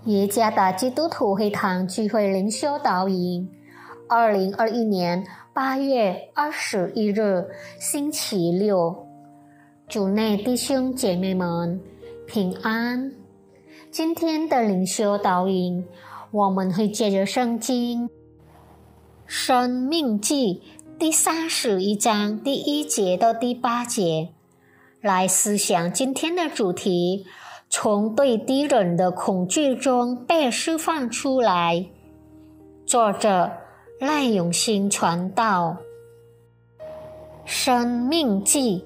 耶加达基督徒会堂聚会灵修导引2021年8月21日星期六，主内弟兄姐妹们平安。今天的灵修导引，我们会借着圣经申命记第31章第1节到第8节来思想今天的主题，从对敌人的恐惧中被释放出来。作者赖永兴传道。申命记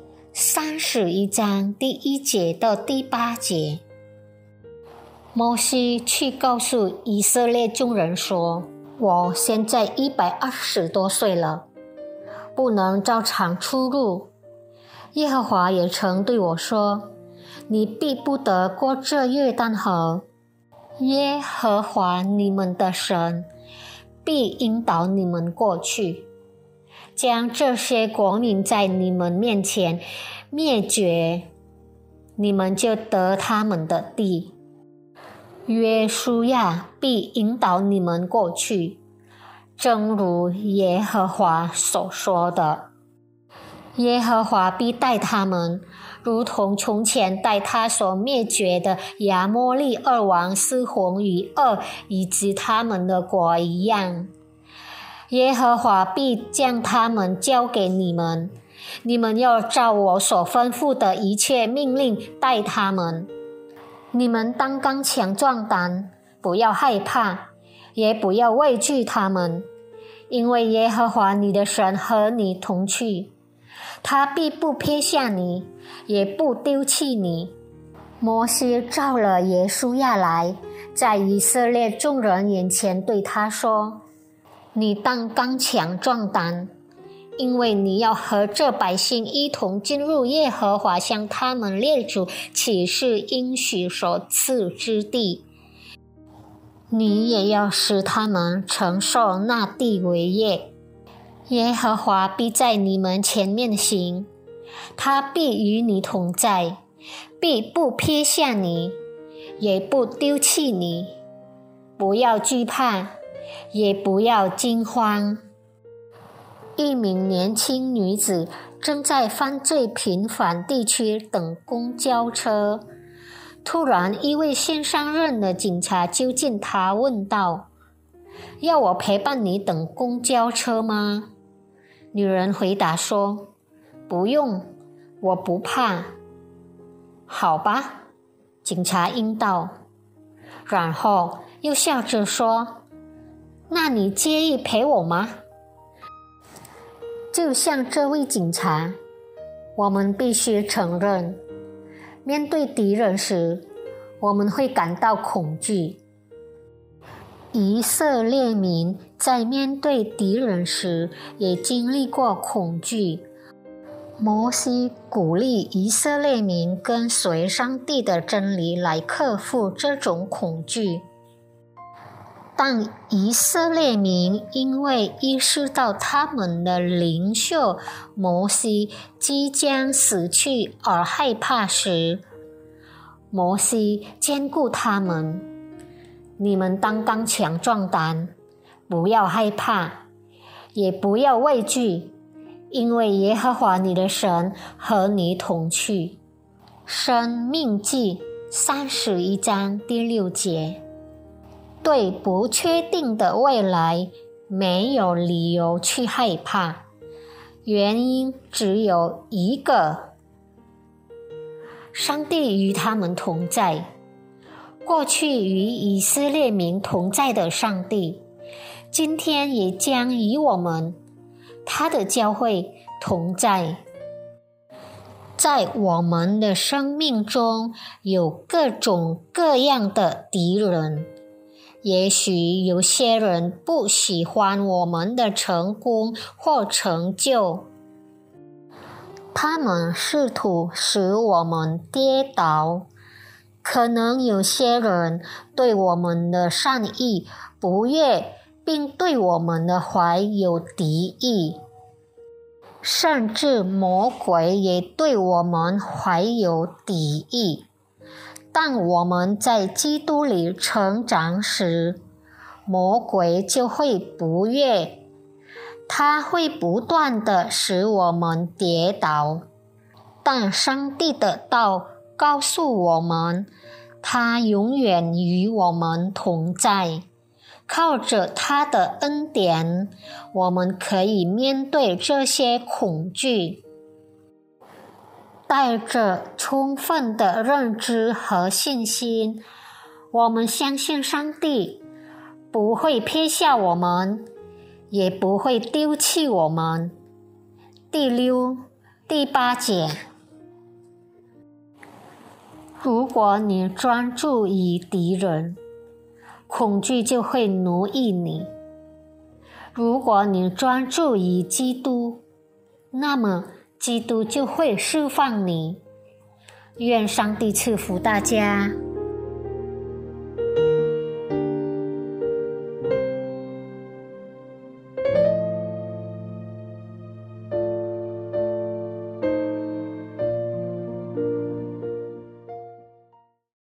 31章第1节到第8节，摩西去告诉以色列众人说，我现在120多岁了，不能照常出入。耶和华也曾对我说，你必不得过这约旦河。耶和华你们的神必引导你们过去，将这些国民在你们面前灭绝，你们就得他们的地。约书亚必引导你们过去，正如耶和华所说的。耶和华必带他们，如同从前带他所灭绝的亚摩利二王西宏与噩以及他们的国一样。耶和华必将他们交给你们，你们要照我所吩咐的一切命令待他们。你们当刚强壮胆，不要害怕，也不要畏惧他们，因为耶和华你的神和你同去，他必不撇下你，也不丢弃你。摩西召了耶书亚来，在以色列众人眼前对他说，你当刚强壮胆，因为你要和这百姓一同进入耶和华向他们列祖起誓应许所赐之地，你也要使他们承受那地为业。耶和华必在你们前面行，他必与你同在，必不撇下你，也不丢弃你。不要惧怕，也不要惊慌。一名年轻女子正在犯罪频繁地区等公交车，突然一位线上任的警察就近她问道，要我陪伴你等公交车吗？女人回答说，不用，我不怕。好吧，警察应道，然后又笑着说，那你介意陪我吗？就像这位警察，我们必须承认，面对敌人时，我们会感到恐惧。以色列民在面对敌人时也经历过恐惧。摩西鼓励以色列民跟随上帝的真理来克服这种恐惧。但以色列民因为意识到他们的领袖摩西即将死去而害怕时，摩西坚固他们，你们当刚强壮胆，不要害怕，也不要畏惧，因为耶和华你的神和你同去。申命记31章第6节。对不确定的未来没有理由去害怕，原因只有一个，上帝与他们同在。过去与以色列民同在的上帝，今天也将与我们，他的教会同在。在我们的生命中有各种各样的敌人，也许有些人不喜欢我们的成功或成就，他们试图使我们跌倒。可能有些人对我们的善意不悦，并对我们的怀有敌意，甚至魔鬼也对我们怀有敌意。 当我们在基督里成长时，魔鬼就会不悦，他会不断地使我们跌倒。但上帝的道告诉我们，他永远与我们同在。靠着他的恩典，我们可以面对这些恐惧。带着充分的认知和信心，我们相信上帝不会撇下我们，也不会丢弃我们。第6、第8节，如果你专注于敌人，恐惧就会奴役你；如果你专注于基督，那么基督就会释放你。愿上帝赐福大家。